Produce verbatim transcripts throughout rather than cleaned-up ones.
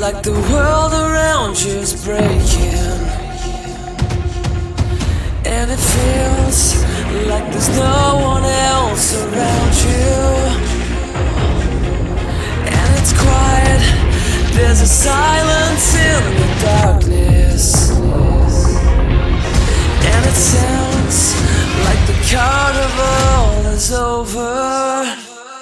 like the world around you is breaking, and it feels like there's no one else around you. And it's quiet, there's a silence in the darkness, and it sounds like the carnival is over.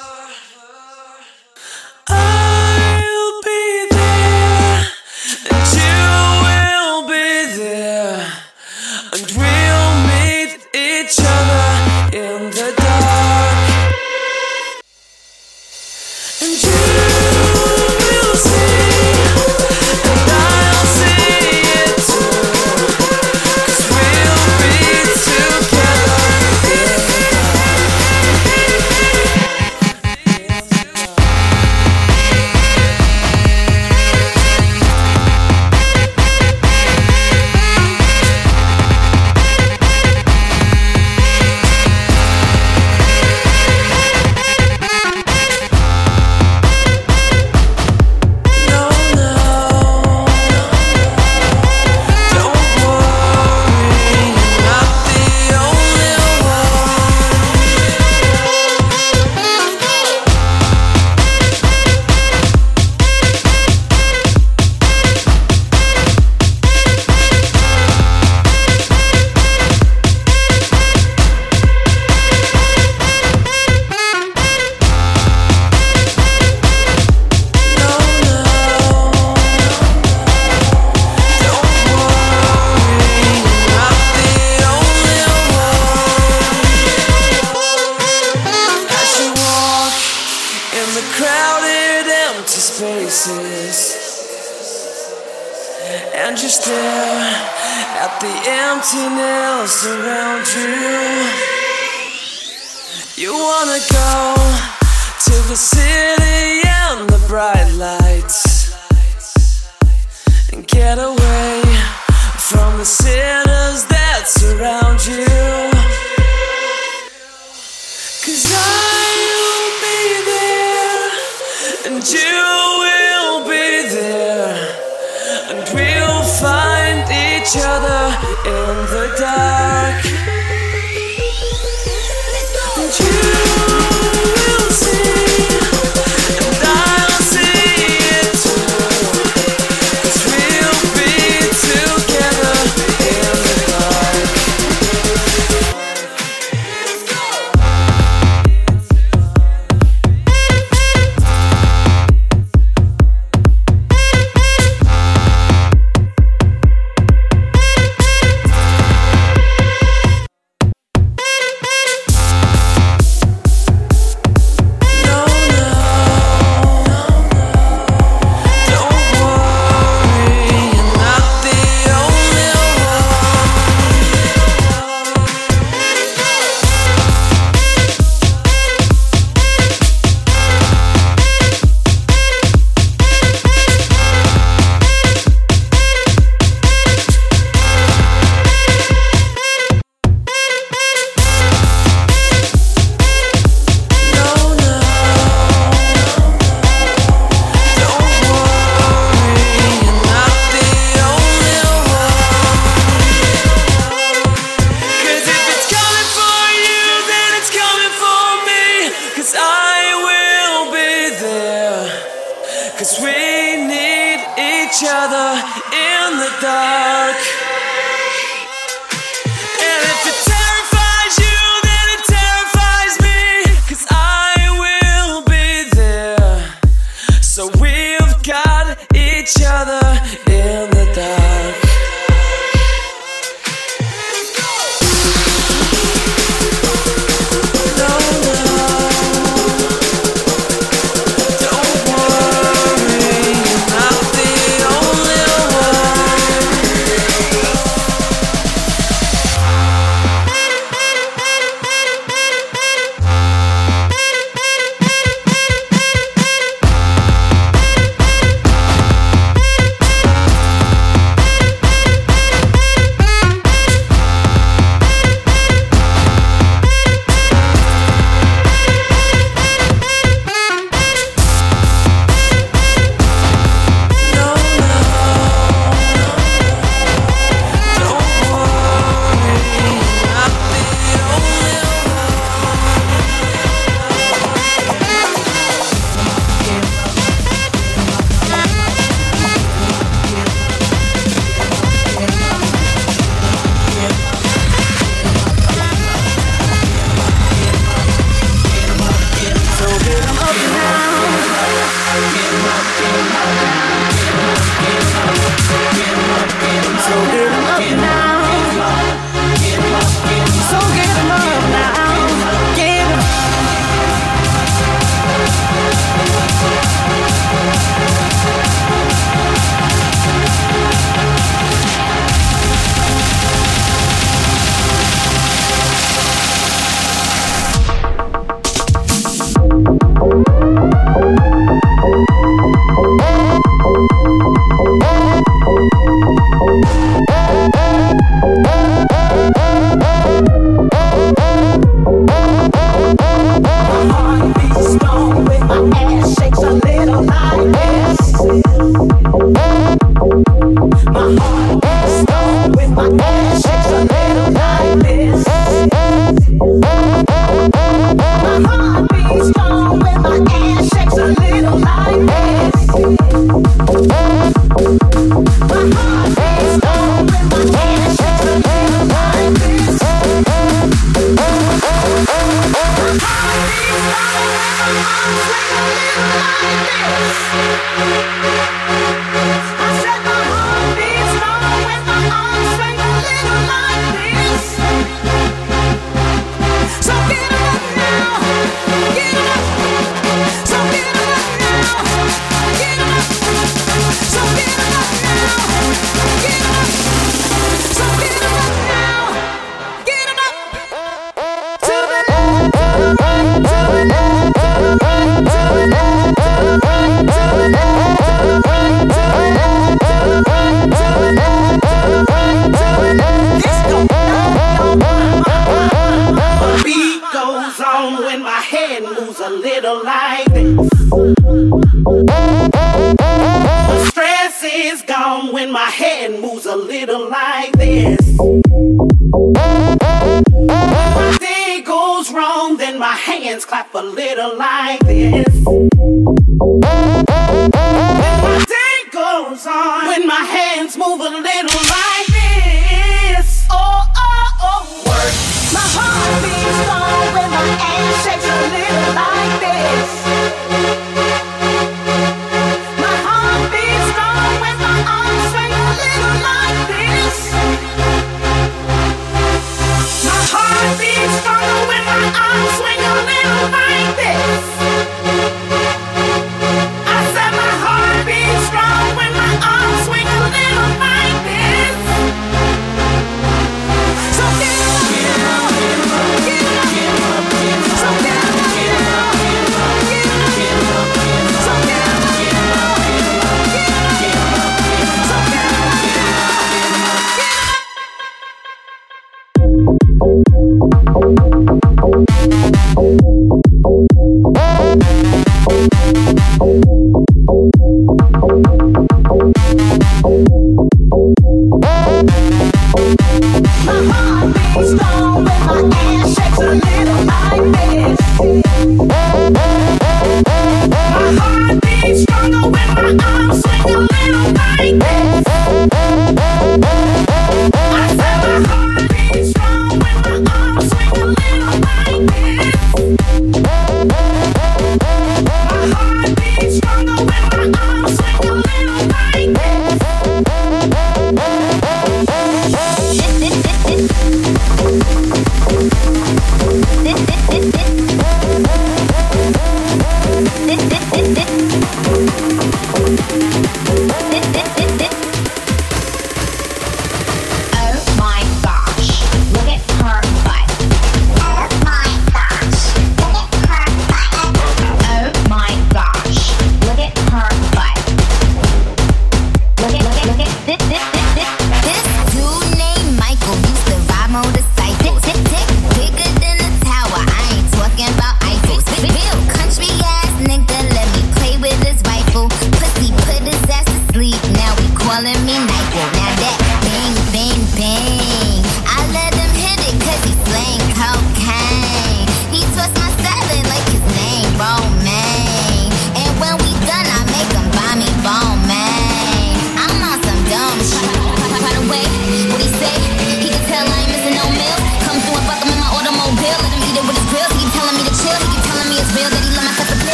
And you stare at the emptiness around you. You wanna go to the city and the bright lights, and get away from the sinners that surround you. 'Cause I will be there, and you will be there, and we'll find each other in the dark. And you will see, and I'll see it too, 'cause we'll be together in the dark. Each other in the dark. And if it terrifies you, then it terrifies me, 'cause I will be there. So we've got each other in the dark. Don't worry, you're not the only one.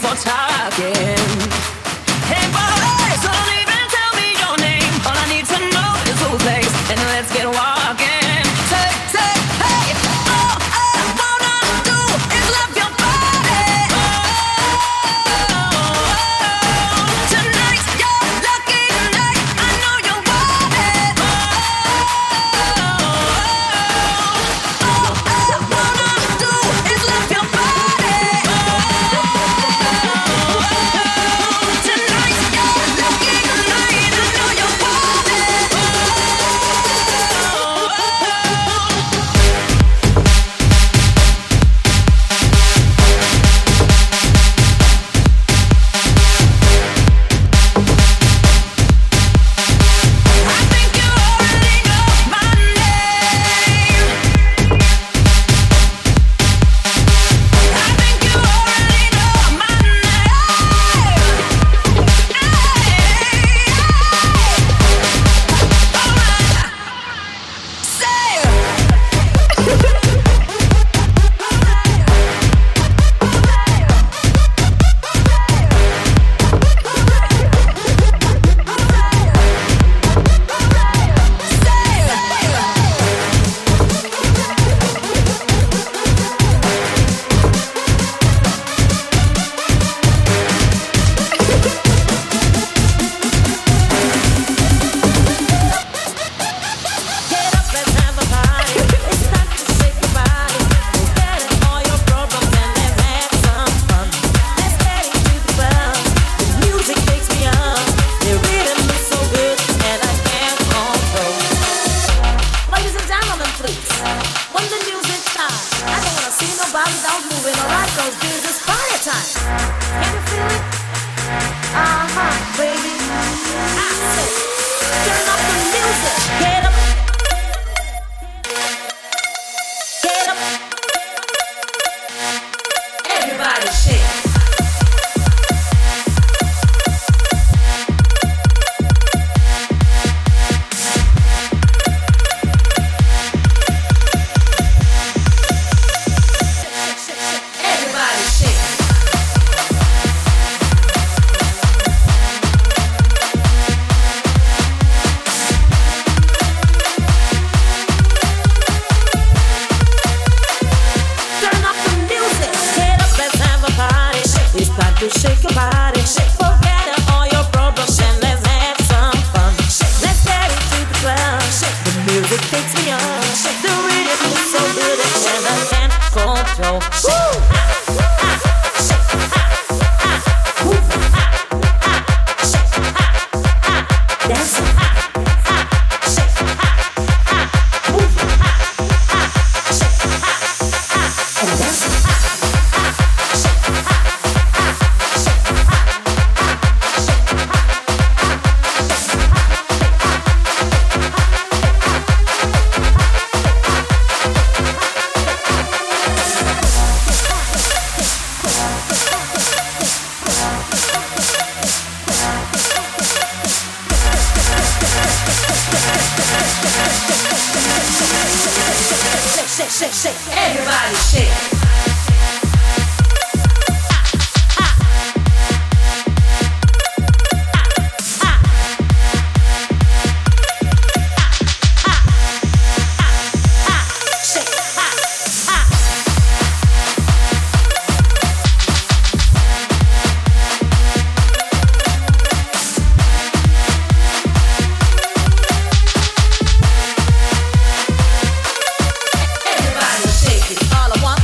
for talking. Hey boys, don't even tell me your name. All I need to know is who's next, and let's get walking. Say, say, hey, all I wanna do is love your body. Oh, tonight's your lucky night. I know you want it. Oh, all I wanna do is love your body. Tonight's your lucky night. I know you want it. I think you already know my name. I think you already know my name. Get up, let's have a party. It's time to shake your body. Forget all your problems and let's have some fun. Let's get into the club. The music takes me up. The rhythm is so good and I can't control. Ladies and gentlemen, please, when the music starts, I don't wanna see nobody down moving. Alright, cause this is party time. Can you feel it? Uh-huh, baby. I say, turn up the music. Get up. Get up. Everybody shake. Everybody shake. Turn up the music. Get up, let's have a party. It's time to shake your body. Forget all your problems and let's have some fun. Let's get into the club. The music takes me on. The rhythm is so good and I can't control. Dance. And dance. Shake, shake, shake. Everybody shake. Everybody shake it. All I want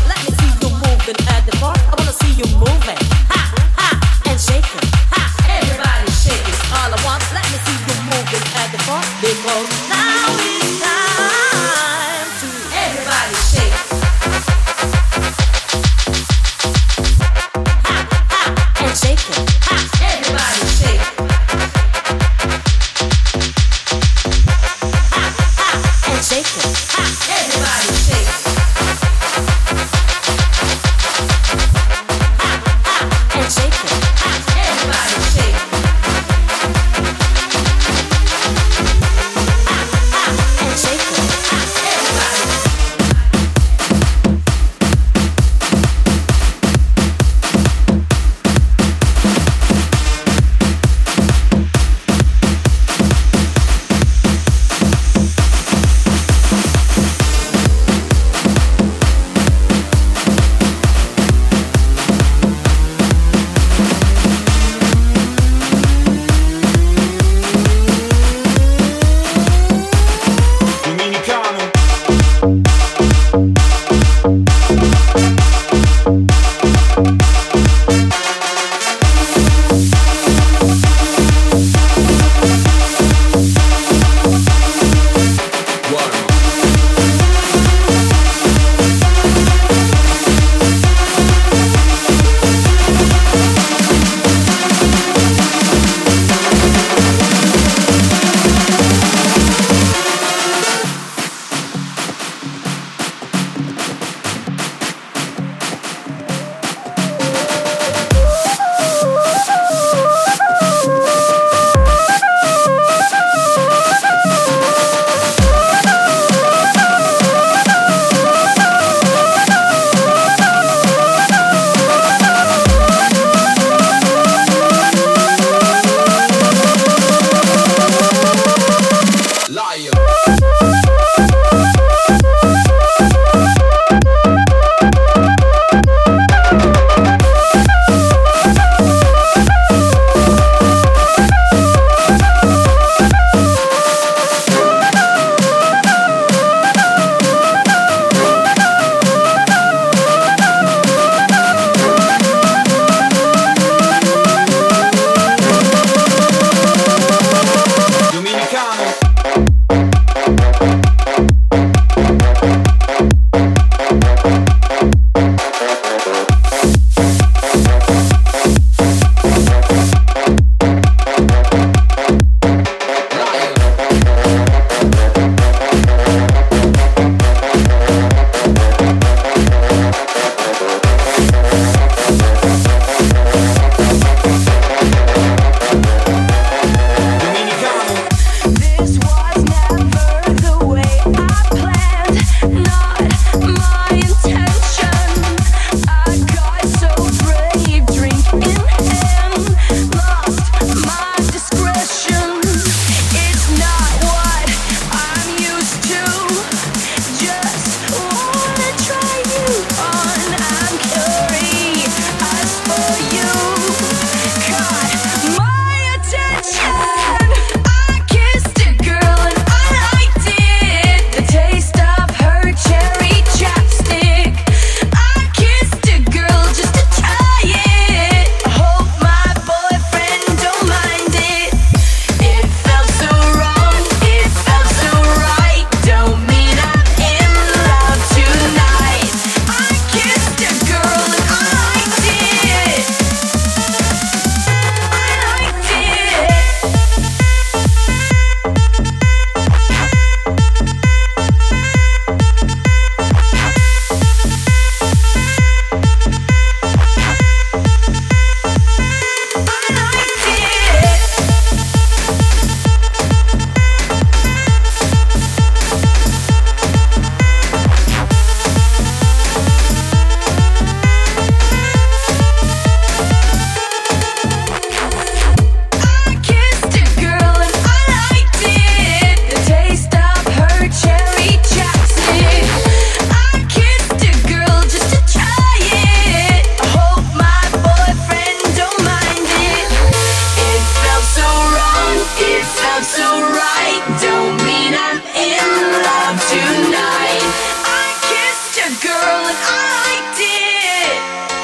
I liked it.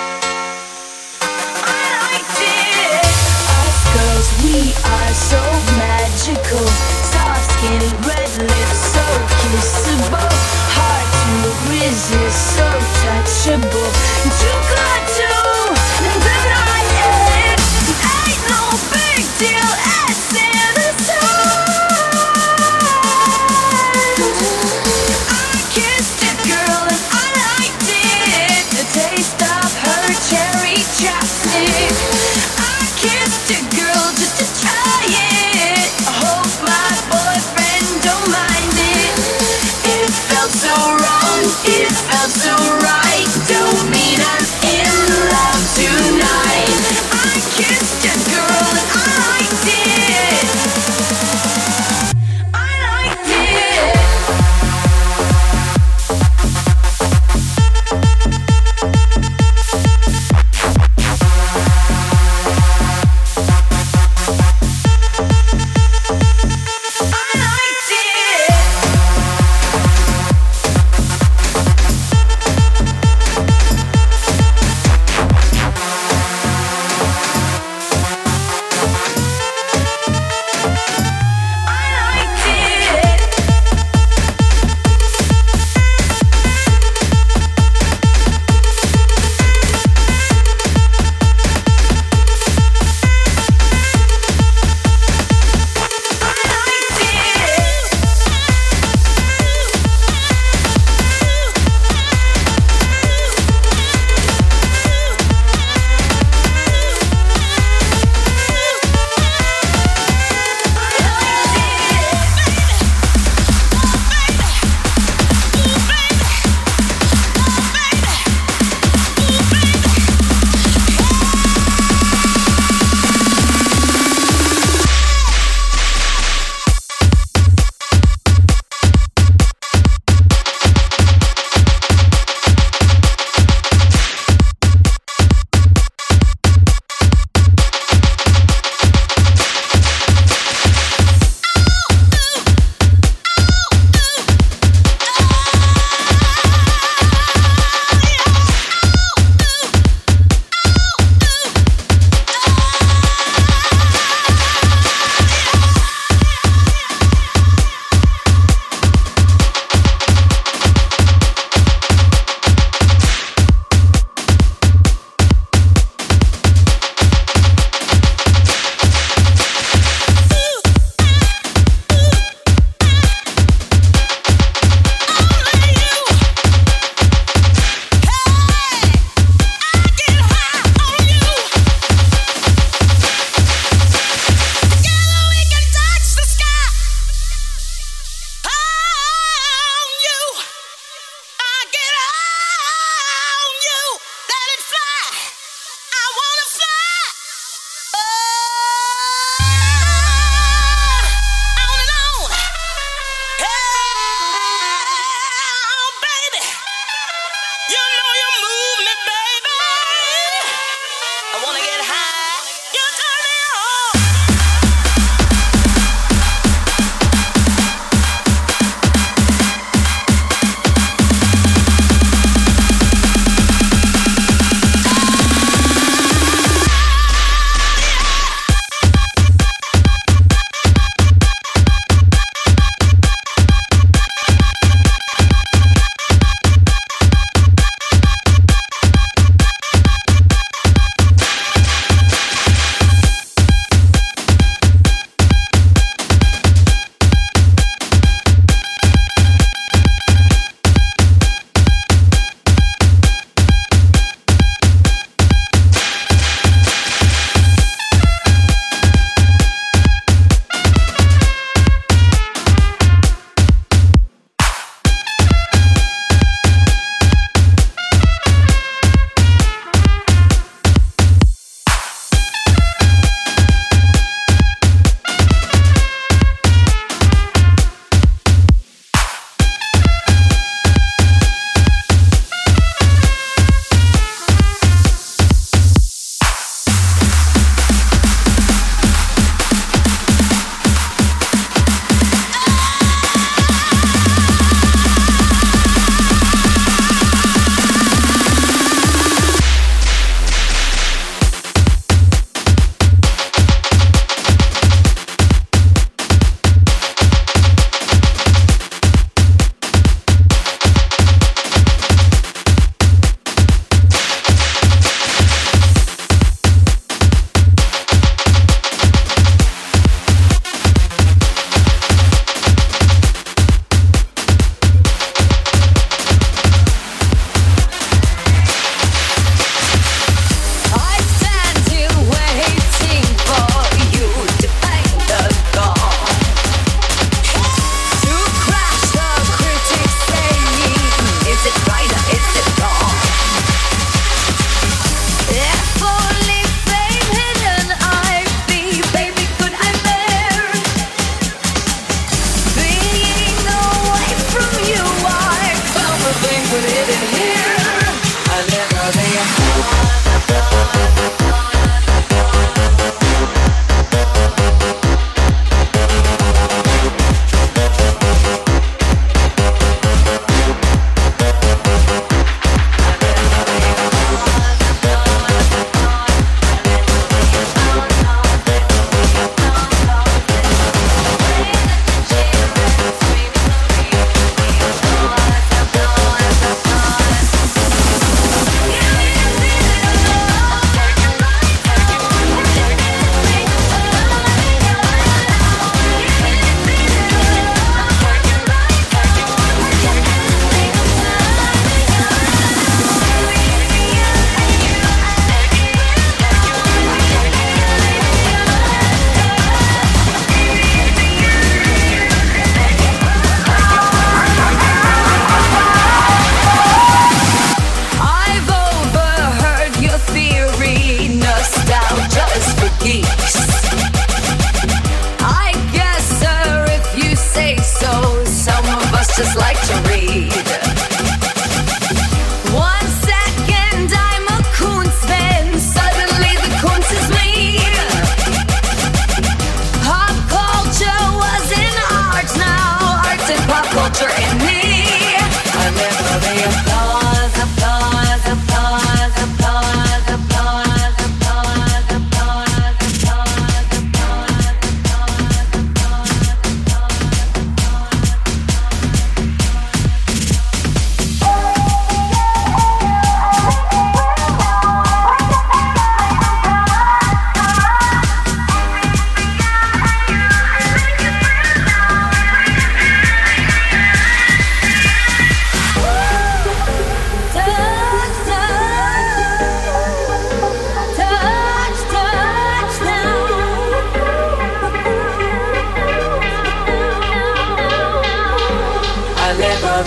I liked it. Us girls, we are so magical. Soft skin, red lips, so kissable. Hard to resist, so touchable. Too good to deny it. Ain't no big deal at Santa's I kissed a girl and I liked it. The taste of her cherry chapstick. I kissed a girl just to try it. I hope my boyfriend don't mind it. It felt so wrong, it felt so right. Don't mean I'm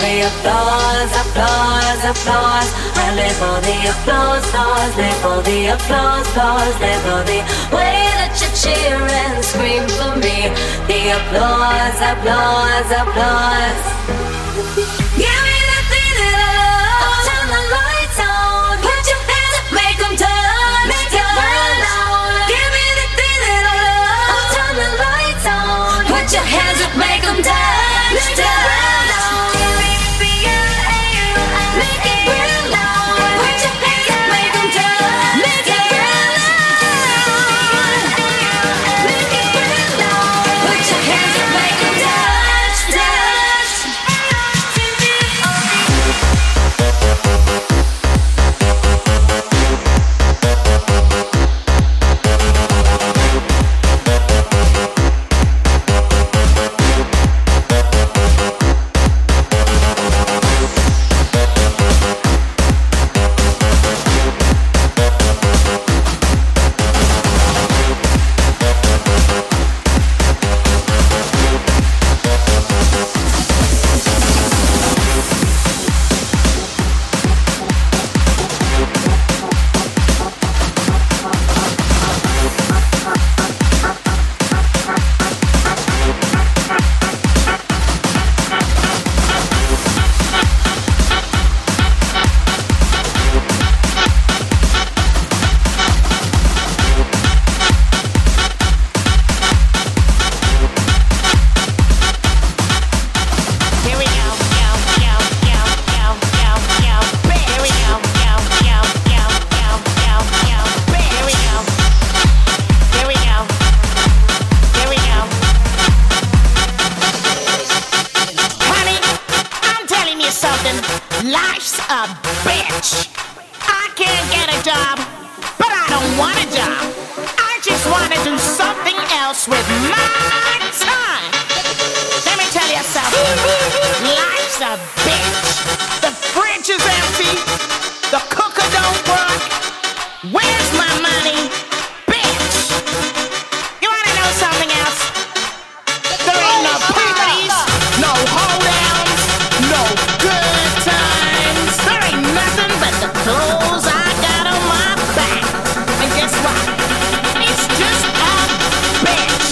the applause, applause, applause. I live for the applause, applause, live for the applause, applause, live for the way that you cheer and scream for me. The applause, applause, applause. Give me the thing that I love. Turn the lights on. Put your hands up, make them turn. Make it burn out. Give me the thing that I love. Turn the lights on. Put your hands up, make them dance. Make it burn out. Give me the feel, make it burn out. Put your hands up, make them dance. Make it burn out. Make it burn out. Put your hands up, make them dance, dance. Life's a bitch. I can't get a job, but I don't want a job. I just want to do something else with my time. Let me tell you something. Life's a bitch. The fridge is empty. The cooker don't work. Where's my money? Bitch. You want to know something else? There ain't no parties, no holdouts, no good times. There ain't nothing but the clothes I got on my back. And guess what? It's just a bitch.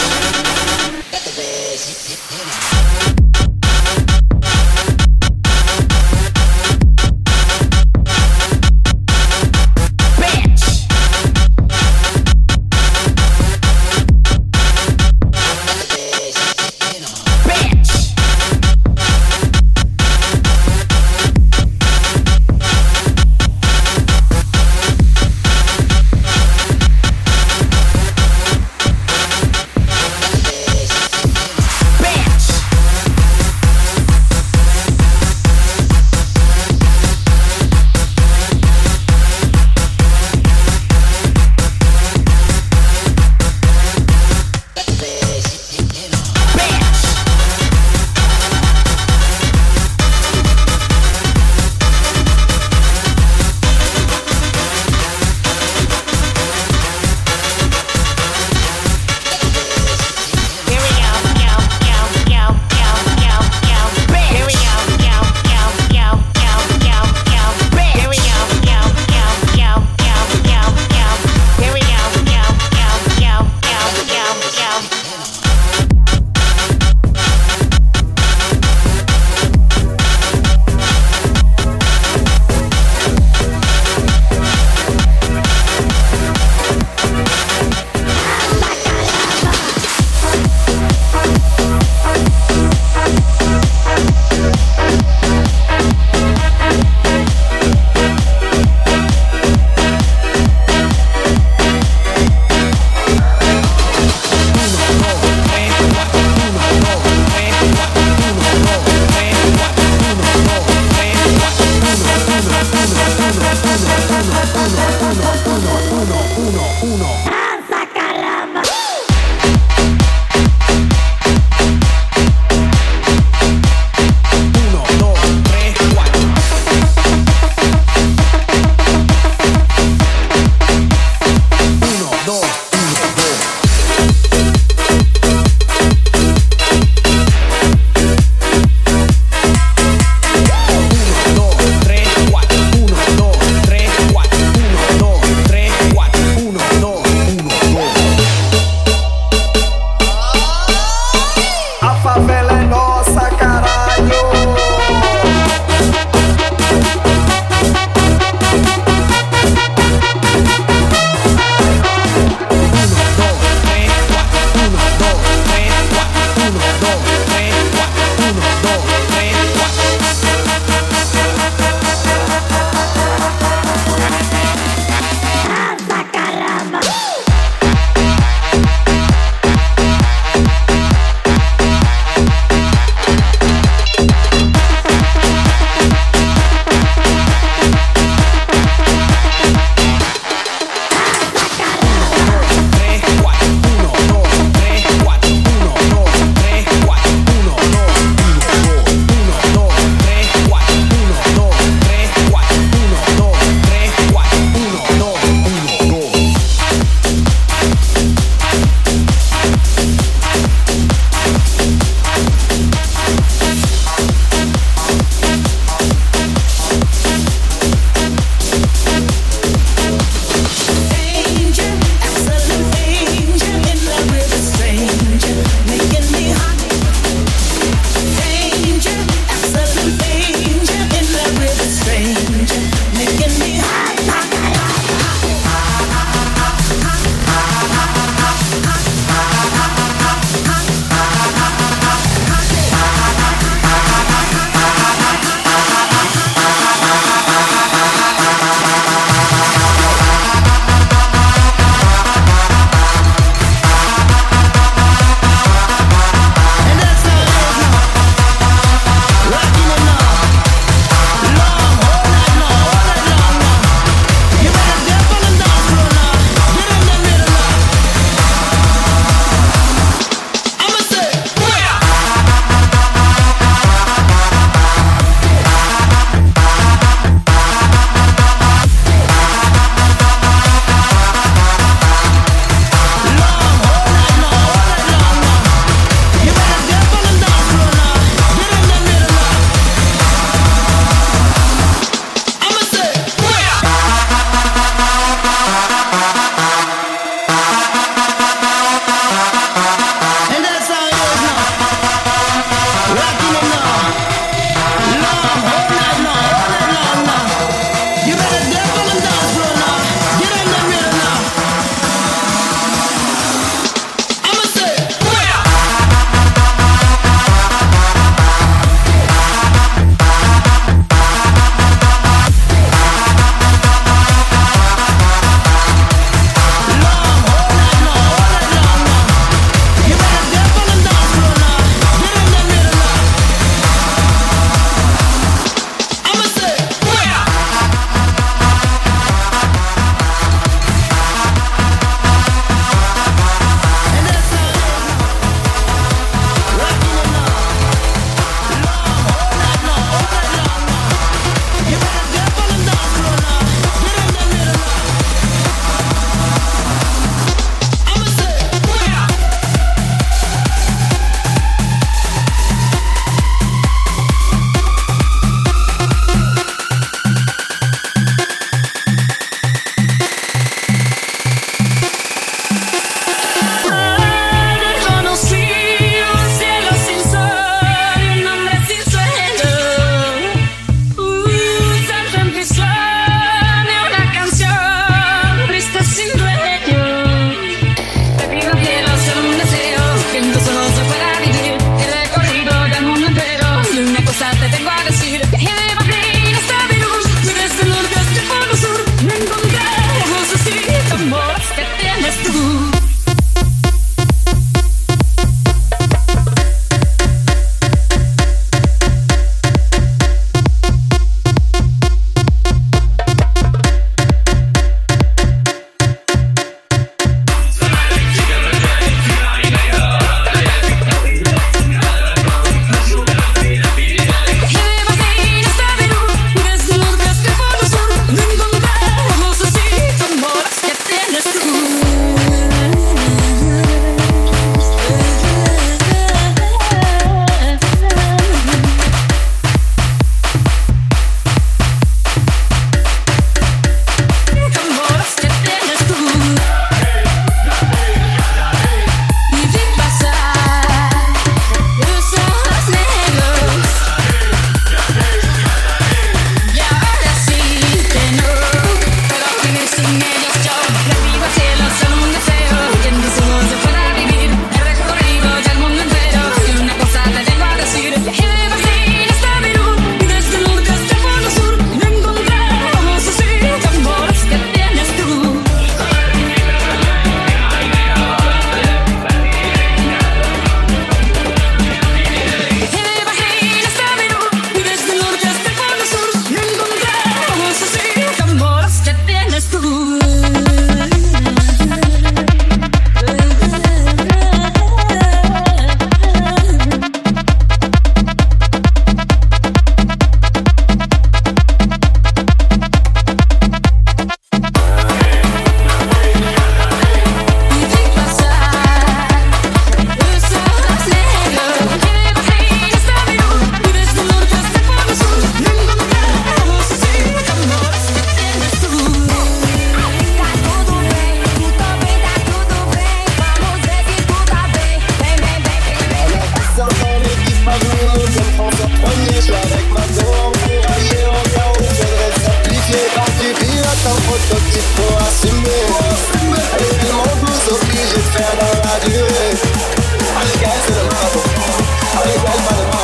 un prototype pour assumer. Réellement vous obligez de faire dans la durée. Allez gars c'est le marathon. Allez gars pas le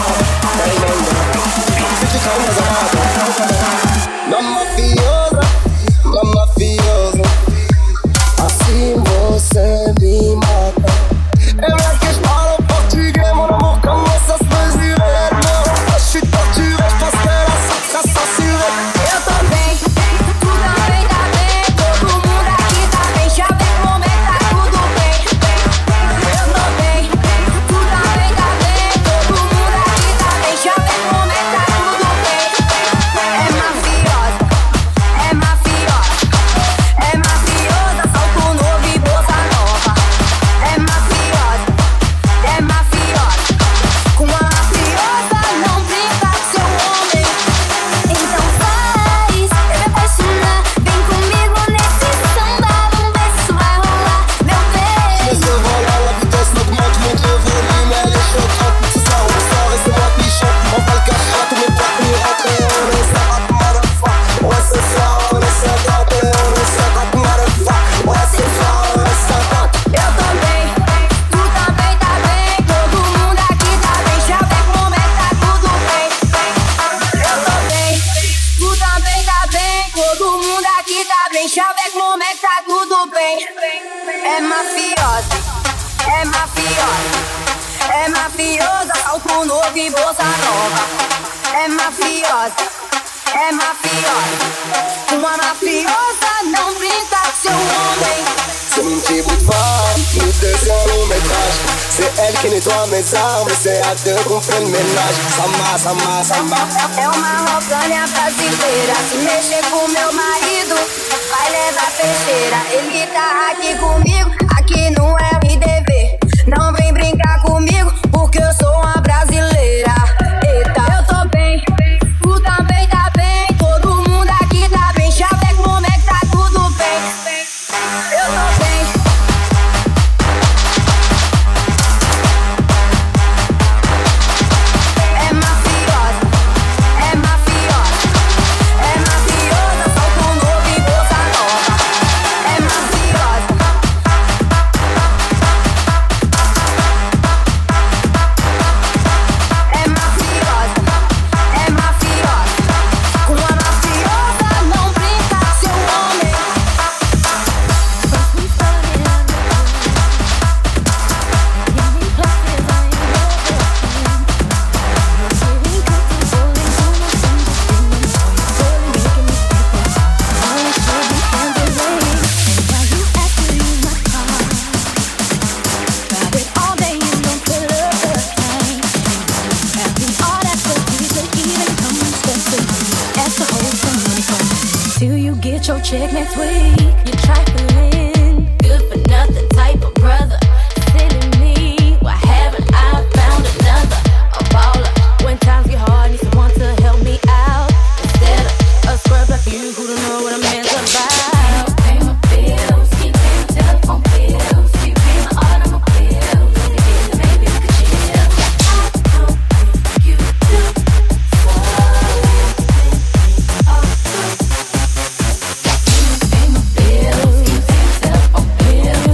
marathon. Si tu crains dans un marathon. Mamma fiosa, mamma fiosa. Assim você me mata. É vrai que je parle en portugais. Mon amour commence à se mesurer. Non, je suis torturé, je pense que la sorte sera censurée. Eu tô bem, tu também tá bem. Todo mundo aqui tá bem. Já vem com momento, tá tudo bem. Eu tô bem, tu também tá bem. Todo mundo aqui tá bem. Já vem com momento, tá tudo bem. É mafiosa, é mafiosa, é mafiosa. Salto novo e bolsa nova. É mafiosa, é mafiosa. Com a mafiosa não brinca seu homem. Então faz, me apaixonar. Vem comigo nesse samba. Vamos ver se vai rolar, meu bem. Laisse le vol à la vitesse, n'augmente, monte le volume. Elle est choquante, ce soir on sort et c'est moi qui chante. On va le cacher à tous mes potes pour y rentrer. On est cinquante motherfuck. Ouais ce soir on est cinquante. On est cinquante motherfuck. Ouais ce soir on est cinquante. Eu tô bem, tu também tá bem. Todo mundo aqui tá bem. Já vem com momento, tá tudo bem. Eu tô bem, tu também tá bem. Todo mundo aqui tá bem. Já vem com momento, tá tudo bem. É mafiosa, é mafiosa, é mafiosa. Salto novo e bolsa nova. É mafiosa, é mafiosa. Uma mafiosa não brinca com seu homem. C'est mon petit bout de femme, nous deux c'est un long métrage. C'est elle qui nettoie mes armes, c'est à deux qu'on fait le ménage. Samba, samba, samba. É uma rocanha brasileira. Se mexer com meu marido, vai levar peixeira. Ele tá aqui comigo, aqui no R D V. Não vem brincar comigo, porque eu sou uma brasileira. Eita, eu tô bem, tu também tá bem. Todo mundo aqui tá bem. Já vem com momento, tá tudo bem. Eu tô bem. É mafiosa, é mafiosa, é mafiosa. Salto novo e bolsa nova. É mafiosa. É mafiosa, é mafiosa. Com a mafiosa não brinca seu homem. Till you get your check next week, you're trifling, good for nothing type of brother. Silly me, why haven't I found another? A baller, when times get hard, need someone to help me out. Instead of a scrub like you who don't know what a man's about. Pay my bills, keep paying my telephone bills, keep paying my automobiles. Maybe we could chill. I know you do. Pay my bills, keep paying my telephone bills.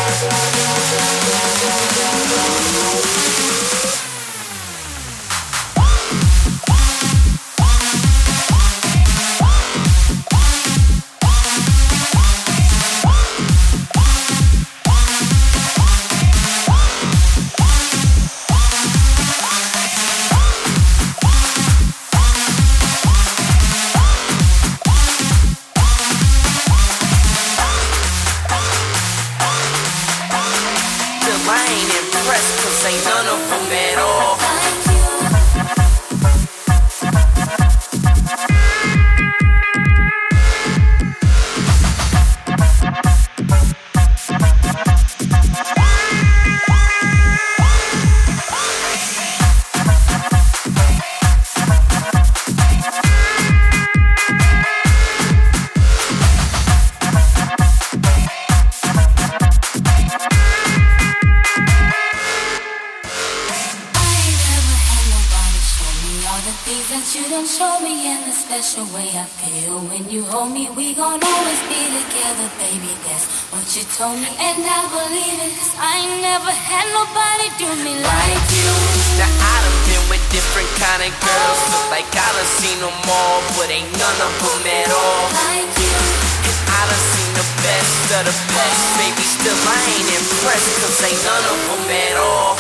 Told me and I believe it, 'cause I ain't never had nobody do me like you. Now I done been with different kind of girls, look like I done seen them all, but ain't none of them at all like you. And I done seen the best of the best, baby, still I ain't impressed, 'cause ain't none of them at all.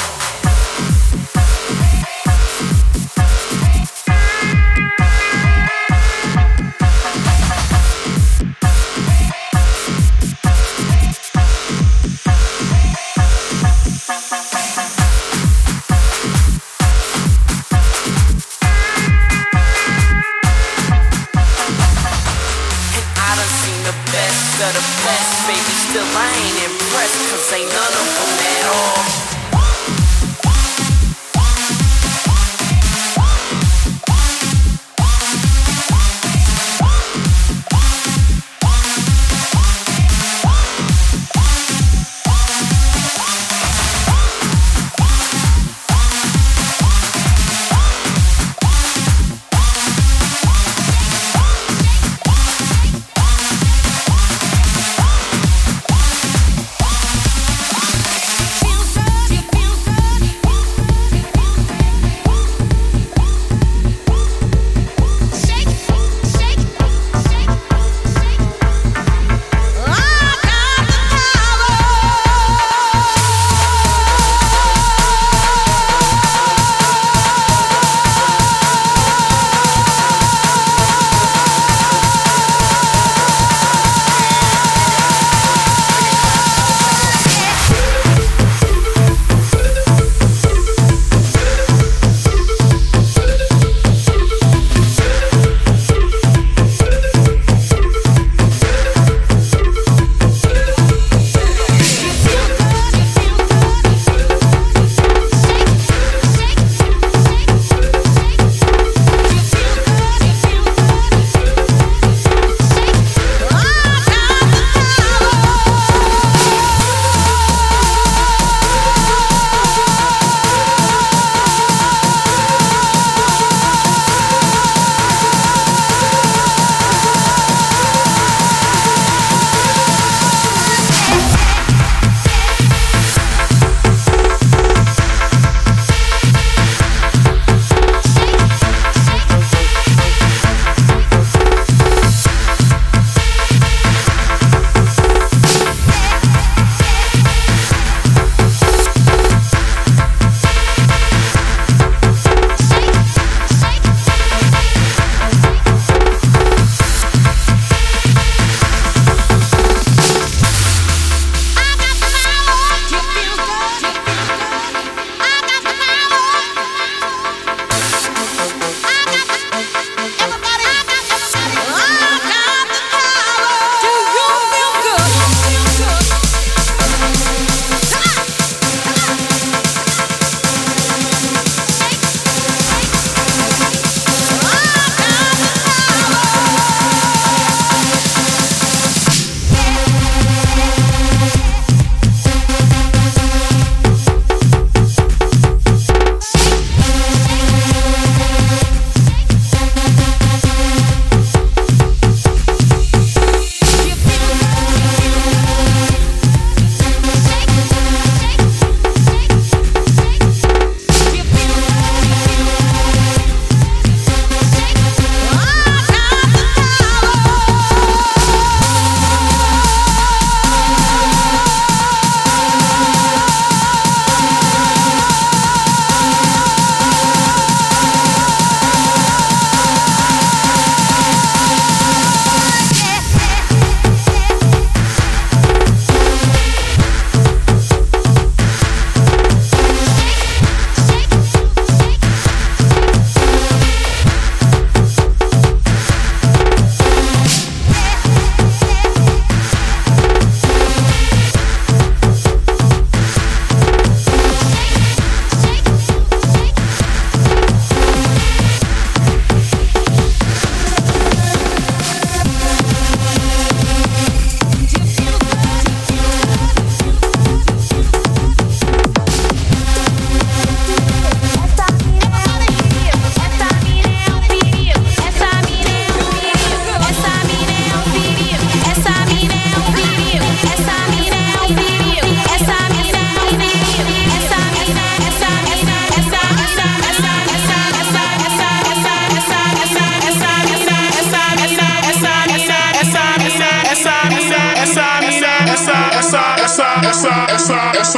The best, baby, still I ain't impressed, 'cause ain't none of them at all. Feel so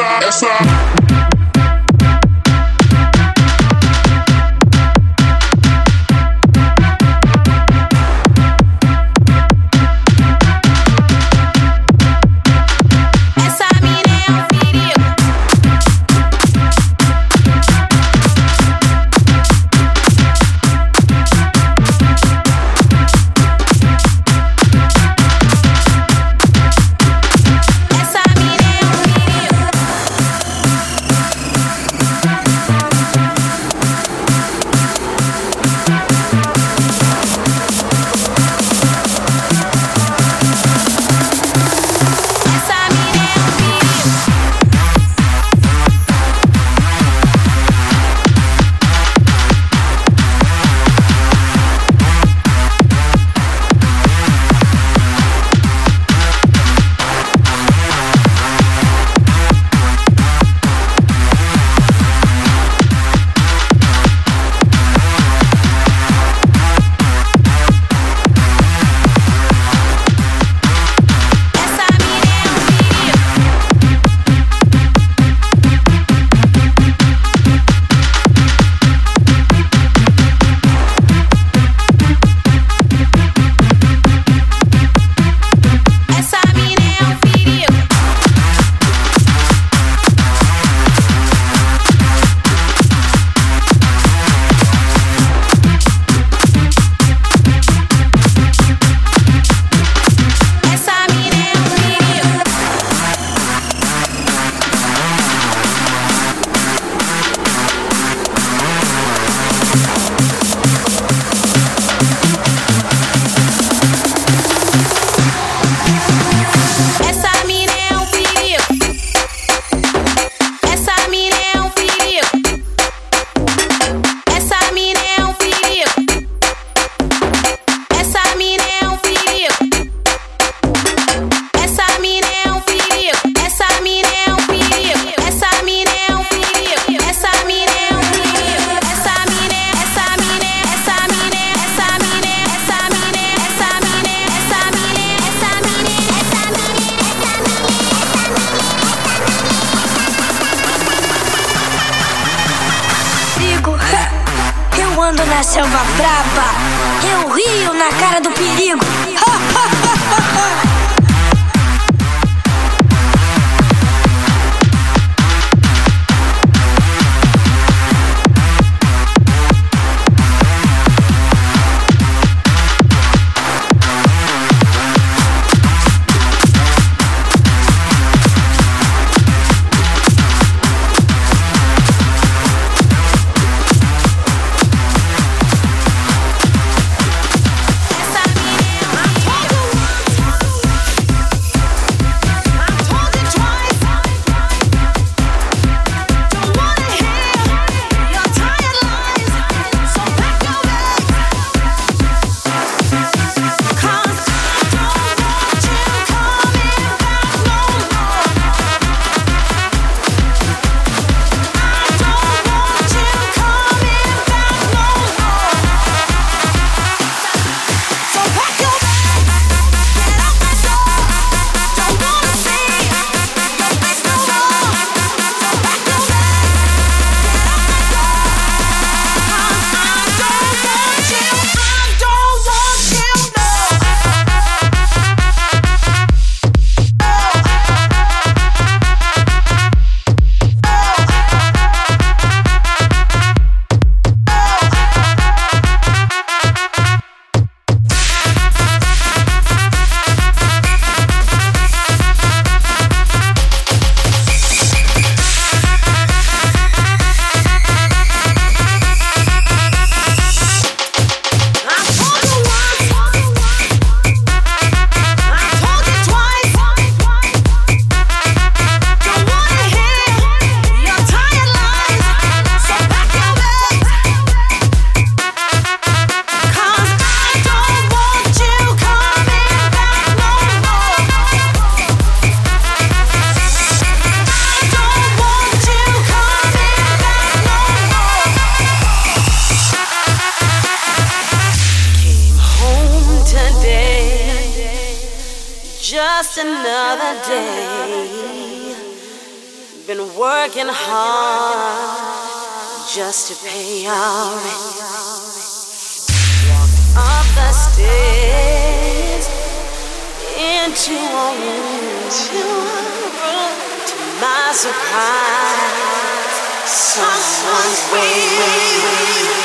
essa. na selva braba, eu rio na cara do perigo. Just another day, been working hard just to pay our rent. Walked up the stairs into a room. To my surprise, someone's waiting.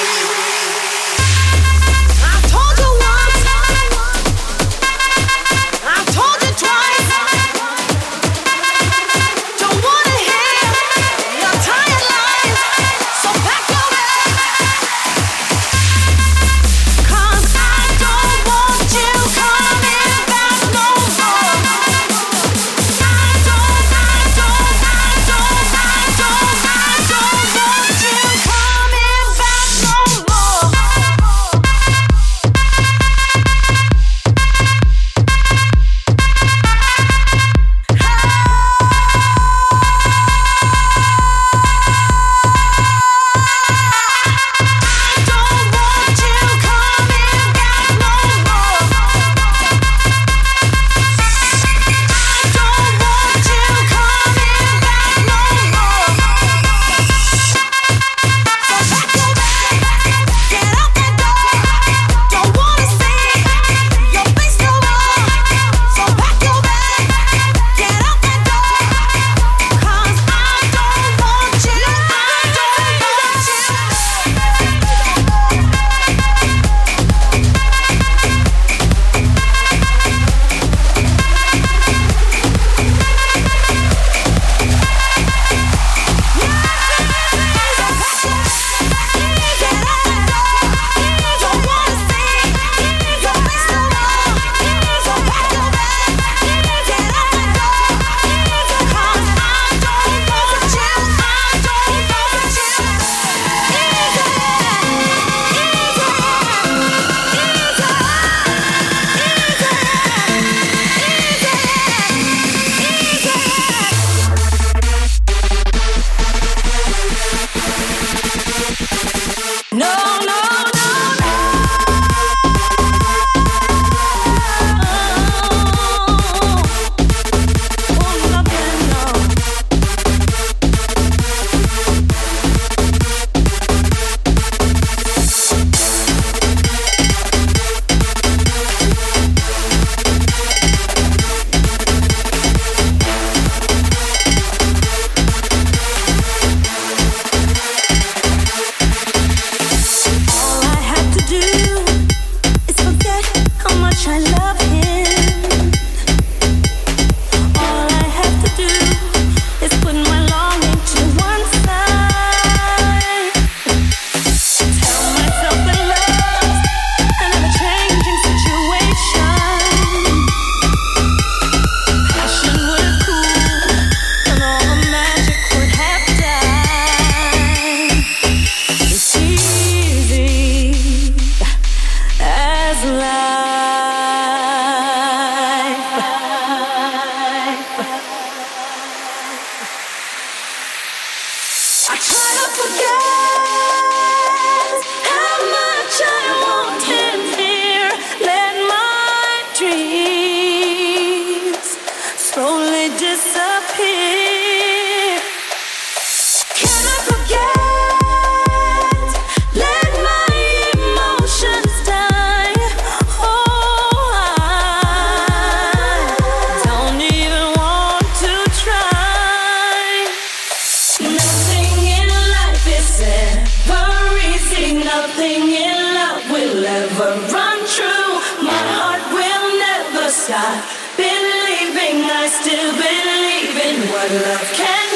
Believing, I still believe in what love can